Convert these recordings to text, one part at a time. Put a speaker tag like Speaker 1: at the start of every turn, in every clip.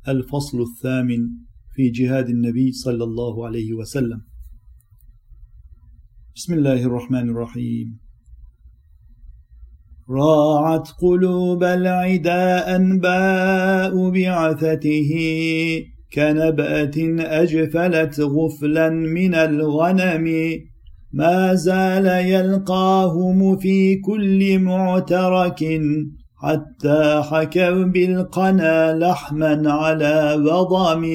Speaker 1: الفصل الثامن في جهاد النبي صلى الله عليه وسلم. بسم الله الرحمن الرحيم. راعت قلوب العداء أنباء بعثته كنبأة أجفلت غفلا من الغنم، ما زال يلقاهم في كل معترك حتى حكوا بالقنا لحما على بضم.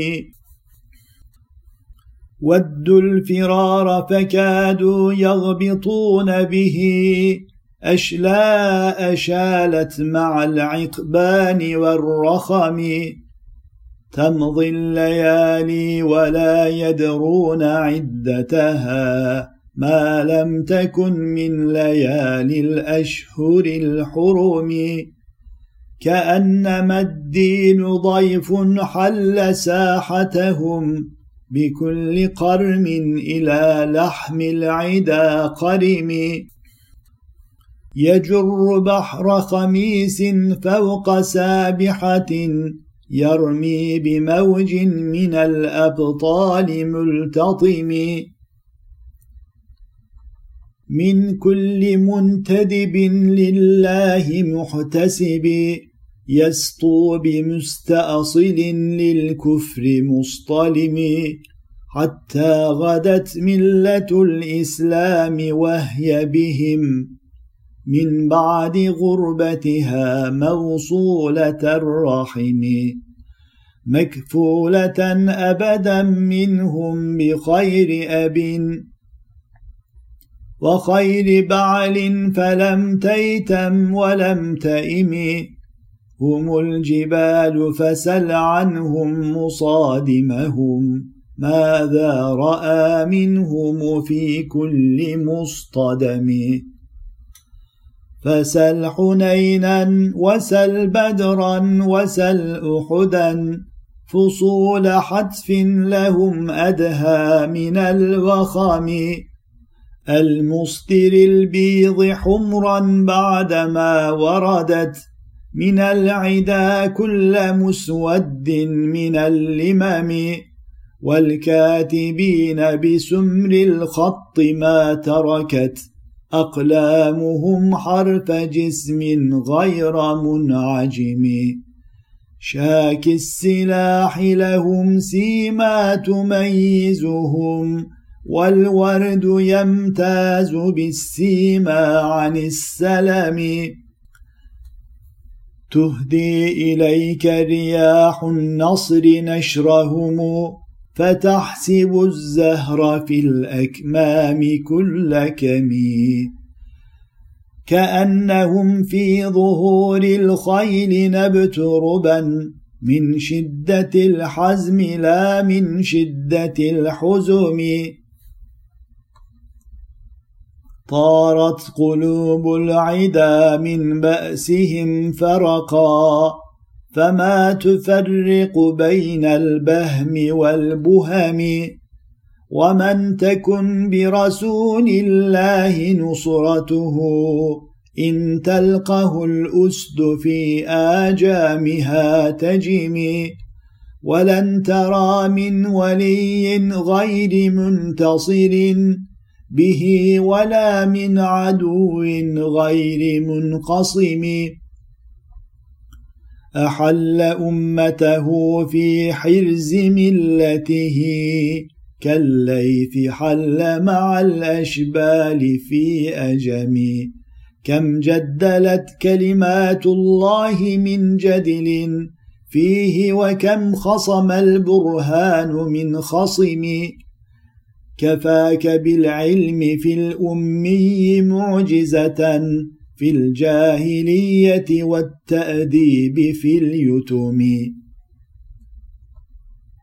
Speaker 1: ودوا الفرار فكادوا يغبطون به، أشلاء شالت مع العقبان والرخم. تمضي الليالي ولا يدرون عدتها، ما لم تكن من ليالي الأشهر الحرم. كأنما الدين ضيف حل ساحتهم، بكل قرم إلى لحم العدا قرم. يجر بحر خميس فوق سابحة، يرمي بموج من الأبطال ملتطم. من كل منتدب لله محتسب، يسطو بمستأصل للكفر مصطلم. حتى غدت ملة الإسلام وهي بهم، من بعد غربتها موصولة الرحم. مكفولة أبدا منهم بخير أب وخير بعل، فلم تيتم ولم تئم. هم الجبال فسل عنهم مصادمهم، ماذا رأى منهم في كل مصطدم. فسل حنينا وسل بدرا وسل أحدا، فصول حتف لهم أدهى من الوخم. المصدر البيض حمرا بعدما وردت، من العدا كل مسود من اللمم. والكاتبين بسمر الخط ما تركت، أقلامهم حرف جسم غير منعجم. شاك السلاح لهم سيما تميزهم، والورد يمتاز بالسيما عن السلم. تهدي إليك رياح النصر نشرهم، فتحسب الزهر في الأكمام كل كمي. كأنهم في ظهور الخيل نبت ربا، من شدة الحزم لا من شدة الحزم. طارت قلوب العدا من بأسهم فرقا، فما تفرق بين البهم والبهم. ومن تكن برسول الله نصرته، إن تلقه الأسد في آجامها تجم. ولن ترى من ولي غير منتصر به، ولا من عدو غير منقصم. أحل أمته في حرز ملته، كالليث حل مع الأشبال في أجم. كم جدلت كلمات الله من جدل فيه، وكم خصم البرهان من خصم. كفاك بالعلم في الأمي معجزة، في الجاهلية والتأديب في اليتم.